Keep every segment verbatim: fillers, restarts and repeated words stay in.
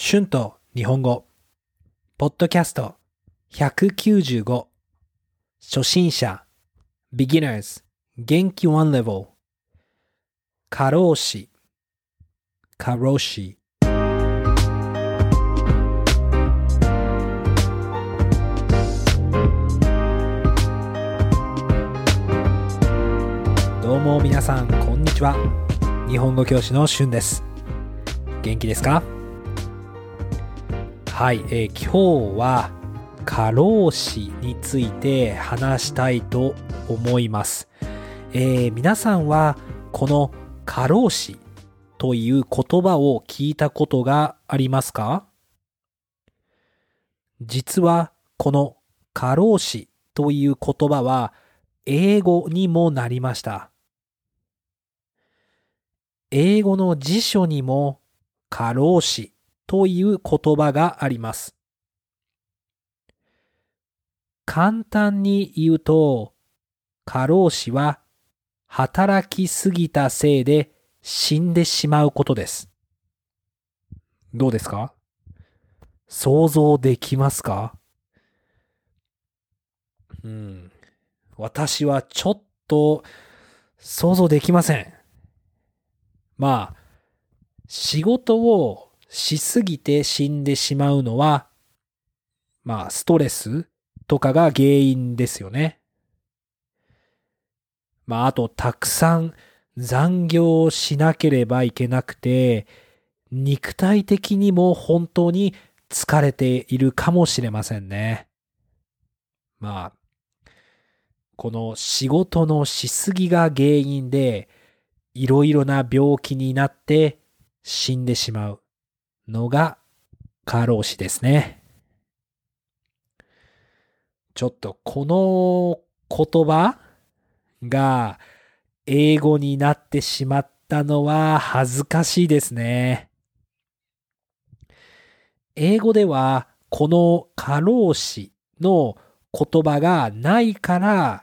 春と日本語ポッドキャストひゃくきゅうじゅうご初心者 Beginners 元気いちレベル過労死過労死どうも皆さんこんにちは。日本語教師の春です。元気ですか？はい、えー、今日は過労死について話したいと思います。えー、皆さんはこの過労死という言葉を聞いたことがありますか？実はこの過労死という言葉は英語にもなりました。英語の辞書にも過労死という言葉があります。簡単に言うと、過労死は働きすぎたせいで死んでしまうことです。どうですか？想像できますか？うん、私はちょっと想像できません。まあ、仕事をしすぎて死んでしまうのは、まあ、ストレスとかが原因ですよね。まあ、あと、たくさん残業しなければいけなくて、肉体的にも本当に疲れているかもしれませんね。まあ、この仕事のしすぎが原因で、いろいろな病気になって死んでしまうのが過労死ですね。ちょっとこの言葉が英語になってしまったのは恥ずかしいですね。英語ではこの過労死の言葉がないから、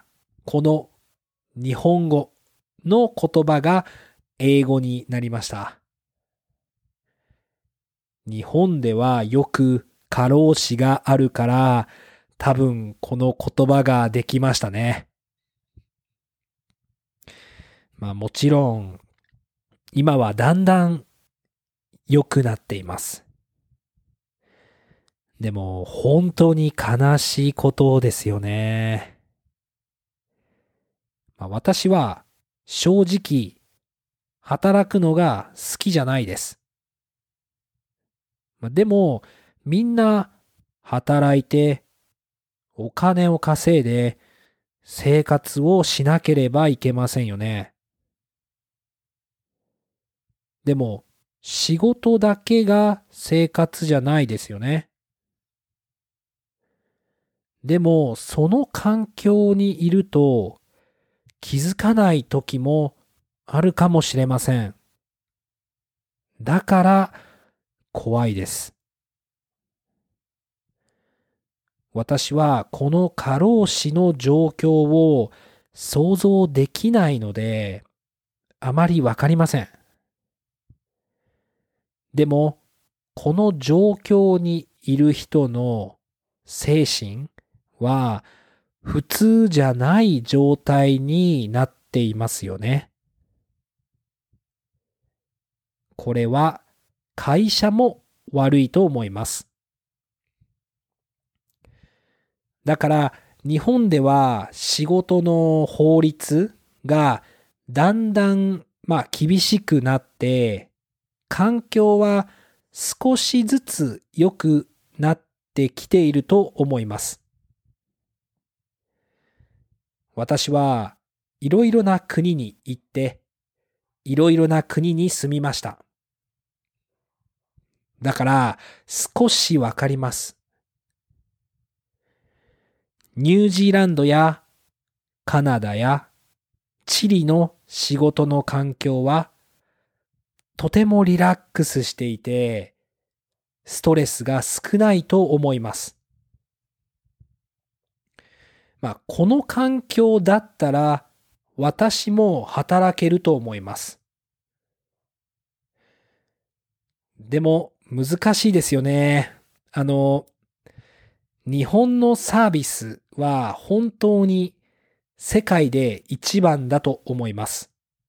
この日本語の言葉が英語になりました。日本ではよく過労死があるから、多分この言葉ができましたね。まあもちろん今はだんだん良くなっています。でも本当に悲しいことですよね。まあ、私は正直働くのが好きじゃないです。まあ、でもみんな働いてお金を稼いで生活をしなければいけませんよね。でも仕事だけが生活じゃないですよね。でもその環境にいると気づかない時もあるかもしれません。だから怖いです。私はこの過労死の状況を想像できないので、あまりわかりません。でも、この状況にいる人の精神は普通じゃない状態になっていますよね。これは会社も悪いと思います。だから日本では仕事の法律がだんだんまあ厳しくなって環境は少しずつ良くなってきていると思います。私はいろいろな国に行っていろいろな国に住みました。だから少しわかります。ニュージーランドやカナダやチリの仕事の環境はとてもリラックスしていてストレスが少ないと思います。まあ、この環境だったら私も働けると思います。でも難しいですよね。あの、日本のサービスは本当に世界で一番だと思います。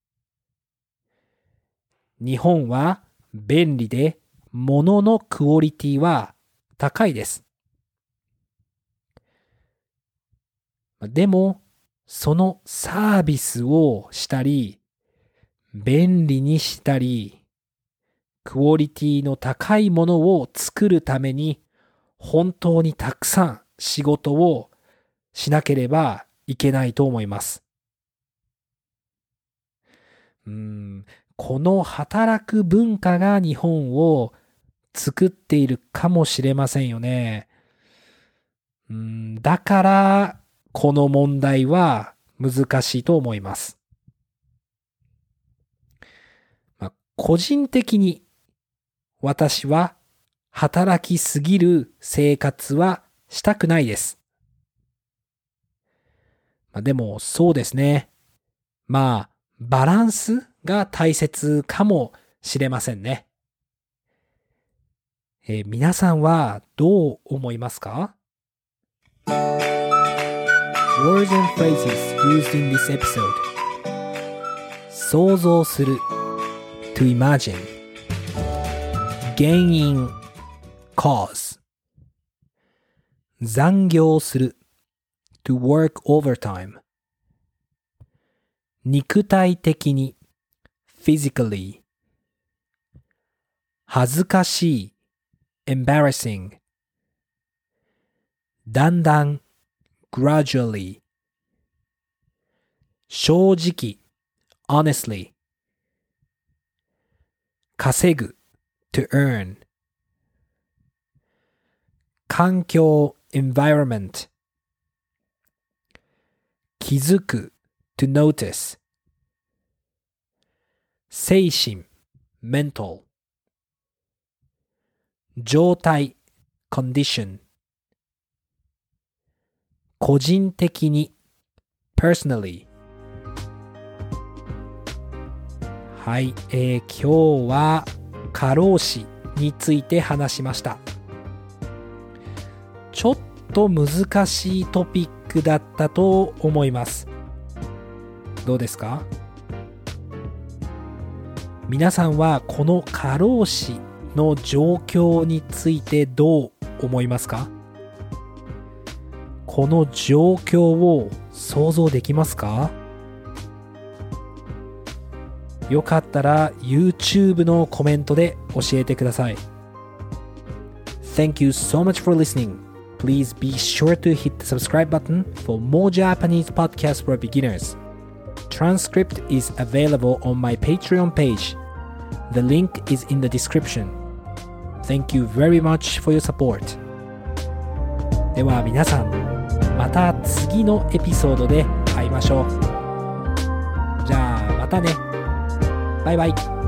日本は便利で物のクオリティは高いです。でも、そのサービスをしたり、便利にしたり、クオリティの高いものを作るために、本当にたくさん仕事をしなければいけないと思います。うーん、この働く文化が日本を作っているかもしれませんよね。うーん、だから、この問題は難しいと思います。まあ、個人的に私は働きすぎる生活はしたくないです。まあ、でもそうですね。まあ、バランスが大切かもしれませんね。えー皆さんはどう思いますか？ Words and phrases used in this episode. 想像する to imagine. 原因 cause. 残業する to work overtime. 肉体的に physically. 恥ずかしい embarrassing. だんだん gradually. 正直 honestly. 稼ぐ to earn. 環境 environment. 気づく to notice. 精神 mental. 状態 condition. 個人的に personally。はい、えー、今日は過労死について話しました。ちょっと難しいトピックだったと思います。どうですか？皆さんはこの過労死の状況についてどう思いますか？この状況を想像できますか？よかったら YouTube のコメントで教えてください。Thank you so much for listening. Please be sure to hit the subscribe button for more Japanese podcasts for beginners. Transcript is available on my Patreon page. The link is in the description. Thank you very much for your support. では皆さん、また次のエピソードで会いましょう。じゃあまたね。バイバイ。